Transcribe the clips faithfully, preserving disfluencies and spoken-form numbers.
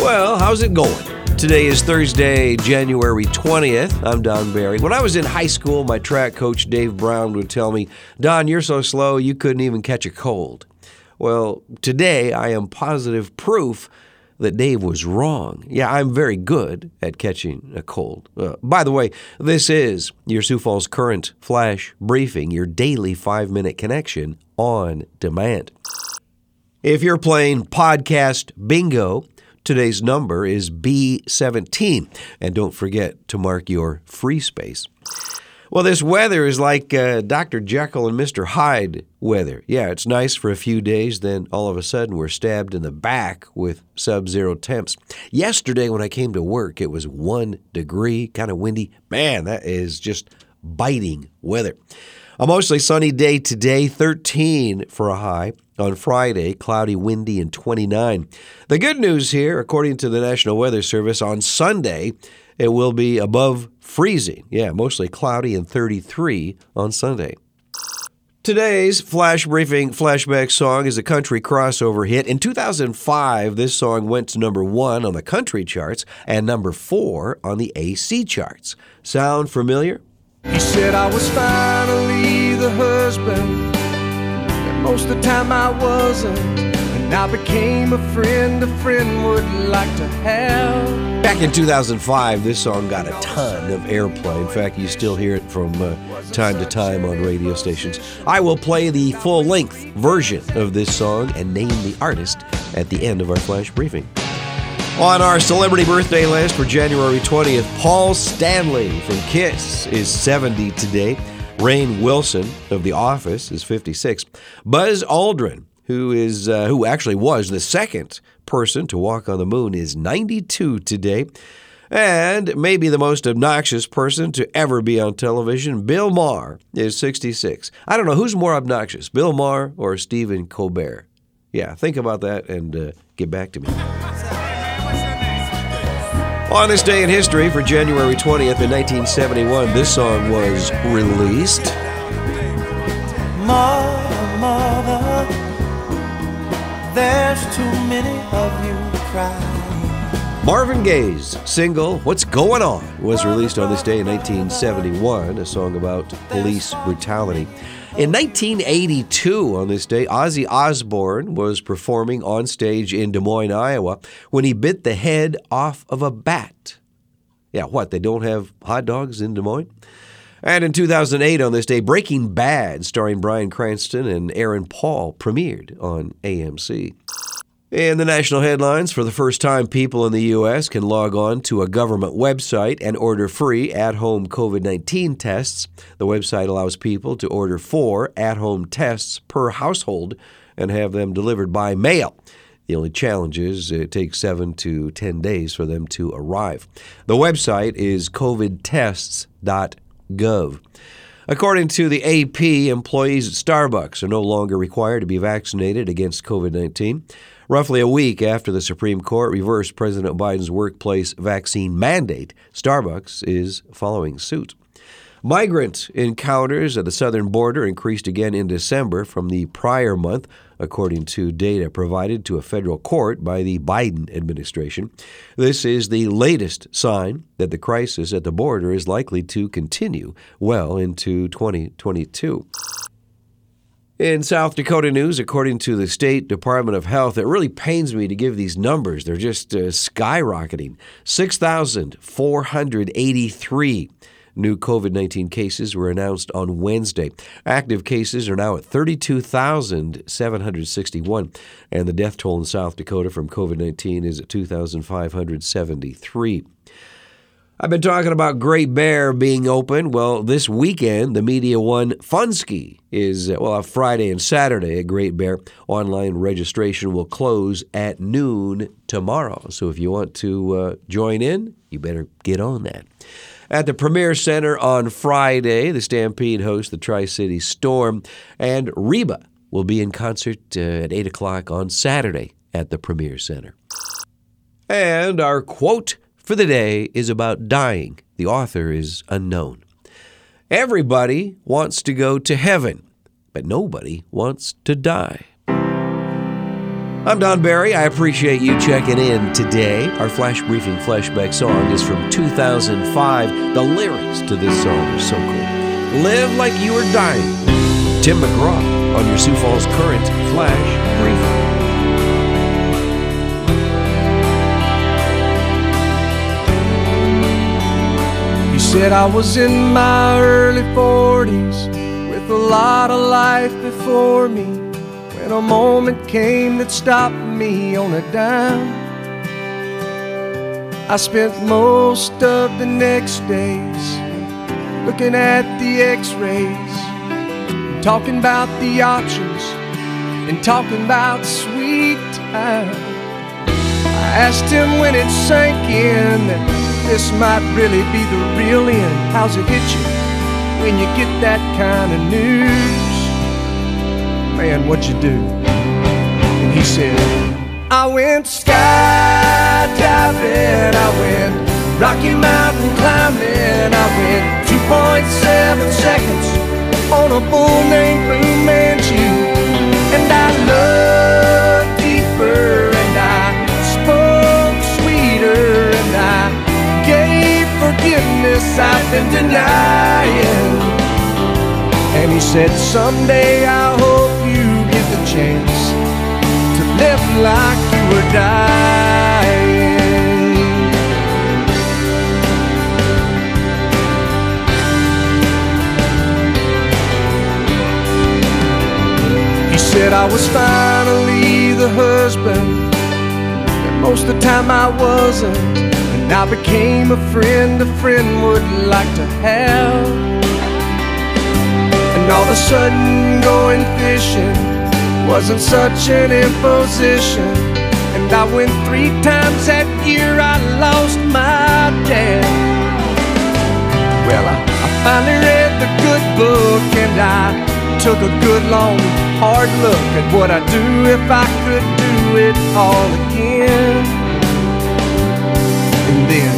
Well, how's it going? Today is Thursday, January twentieth. I'm Don Barry. When I was in high school, my track coach, Dave Brown, would tell me, Don, you're so slow, you couldn't even catch a cold. Well, today I am positive proof that Dave was wrong. Yeah, I'm very good at catching a cold. Uh, by the way, this is your Sioux Falls Current Flash Briefing, your daily five-minute connection on demand. If you're playing podcast bingo, today's number is B seventeen, and don't forget to mark your free space. Well, this weather is like uh, Doctor Jekyll and Mister Hyde weather. Yeah, it's nice for a few days, then all of a sudden we're stabbed in the back with sub-zero temps. Yesterday when I came to work, it was one degree, kind of windy. Man, that is just biting weather. A mostly sunny day today, thirteen for a high. On Friday, cloudy, windy, and twenty-nine. The good news here, according to the National Weather Service, on Sunday, it will be above freezing. Yeah, mostly cloudy and thirty-three on Sunday. Today's Flash Briefing flashback song is a country crossover hit. In two thousand five, this song went to number one on the country charts and number four on the A C charts. Sound familiar? He said I was finally the husband, and most of the time I wasn't, and I became a friend a friend would like to have. Back in two thousand five, this song got a ton of airplay. In fact, you still hear it from uh, time to time on radio stations. I will play the full-length version of this song and name the artist at the end of our Flash Briefing. On our celebrity birthday list for January twentieth, Paul Stanley from Kiss is seventy today. Rainn Wilson of The Office is fifty-six. Buzz Aldrin, who is uh, who actually was the second person to walk on the moon, is ninety-two today. And maybe the most obnoxious person to ever be on television, Bill Maher, is sixty-six. I don't know, who's more obnoxious, Bill Maher or Stephen Colbert? Yeah, think about that and uh, get back to me. On this day in history, for January twentieth in nineteen seventy-one, this song was released. Mother, mother, there's too many of you crying. Marvin Gaye's single, What's Going On, was released on this day in nineteen seventy-one, a song about police brutality. In nineteen eighty-two, on this day, Ozzy Osbourne was performing on stage in Des Moines, Iowa, when he bit the head off of a bat. Yeah, what, they don't have hot dogs in Des Moines? And in two thousand eight, on this day, Breaking Bad, starring Bryan Cranston and Aaron Paul, premiered on A M C. In the national headlines, for the first time, people in the U S can log on to a government website and order free at-home covid nineteen tests. The website allows people to order four at-home tests per household and have them delivered by mail. The only challenge is it takes seven to ten days for them to arrive. The website is covid tests dot gov. According to the A P, employees at Starbucks are no longer required to be vaccinated against covid nineteen. Roughly a week after the Supreme Court reversed President Biden's workplace vaccine mandate, Starbucks is following suit. Migrant encounters at the southern border increased again in December from the prior month, according to data provided to a federal court by the Biden administration. This is the latest sign that the crisis at the border is likely to continue well into twenty twenty-two. In South Dakota news, according to the State Department of Health, it really pains me to give these numbers. They're just uh, skyrocketing. six thousand four hundred eighty-three new covid nineteen cases were announced on Wednesday. Active cases are now at thirty-two thousand seven hundred sixty-one, and the death toll in South Dakota from covid nineteen is at two thousand five hundred seventy-three. I've been talking about Great Bear being open. Well, this weekend, the Media One Fun Ski is, well, on Friday and Saturday at Great Bear. Online registration will close at noon tomorrow. So if you want to uh, join in, you better get on that. At the Premier Center on Friday, the Stampede hosts the Tri-City Storm, and Reba will be in concert uh, at eight o'clock on Saturday at the Premier Center. And our quote for the day is about dying. The author is unknown. Everybody wants to go to heaven, but nobody wants to die. I'm Don Barry. I appreciate you checking in today. Our Flash Briefing Flashback song is from two thousand five. The lyrics to this song are so cool. Live Like You Were Dying. Tim McGraw on your Sioux Falls Current Flash Briefing. He said I was in my early forties with a lot of life before me, when a moment came that stopped me on a dime. I spent most of the next days looking at the x-rays, talking about the options and talking about sweet time. I asked him when it sank in that this might really be the real end. How's it hit you when you get that kind of news? Man, what'd you do? And he said, I went skydiving, I went Rocky Mountain climbing, I went two point seven seconds on a bull named Blue Manchu. And I looked deeper and I spoke sweeter and I gave forgiveness I've been denying. And he said, someday I hope you get the chance to live like you were dying. He said I was finally the husband that most of the time I wasn't, and I became a friend a friend would like to have. And all of a sudden going fishing wasn't such an imposition, and I went three times that year. I lost my dad. Well, I, I finally read the good book, and I took a good long hard look at what I'd do if I could do it all again. And then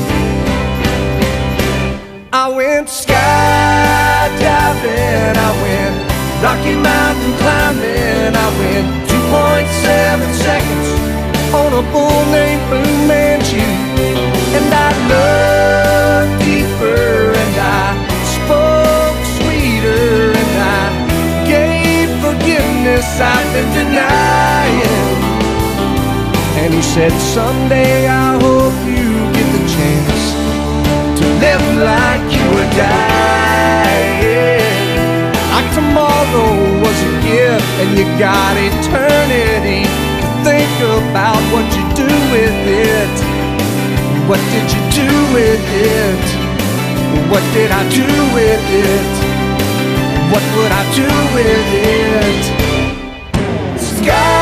I went skydiving, I went Rocky Mountain climbing, I went two point seven seconds on a bull named Blue Manchu. And I looked deeper and I spoke sweeter and I gave forgiveness I've been denying. And he said, someday I hope you get the chance to live like you were dying. Like tomorrow was a gift and you got eternity to think about what you do with it. What did you do with it? What did I do with it? What would I do with it? Sky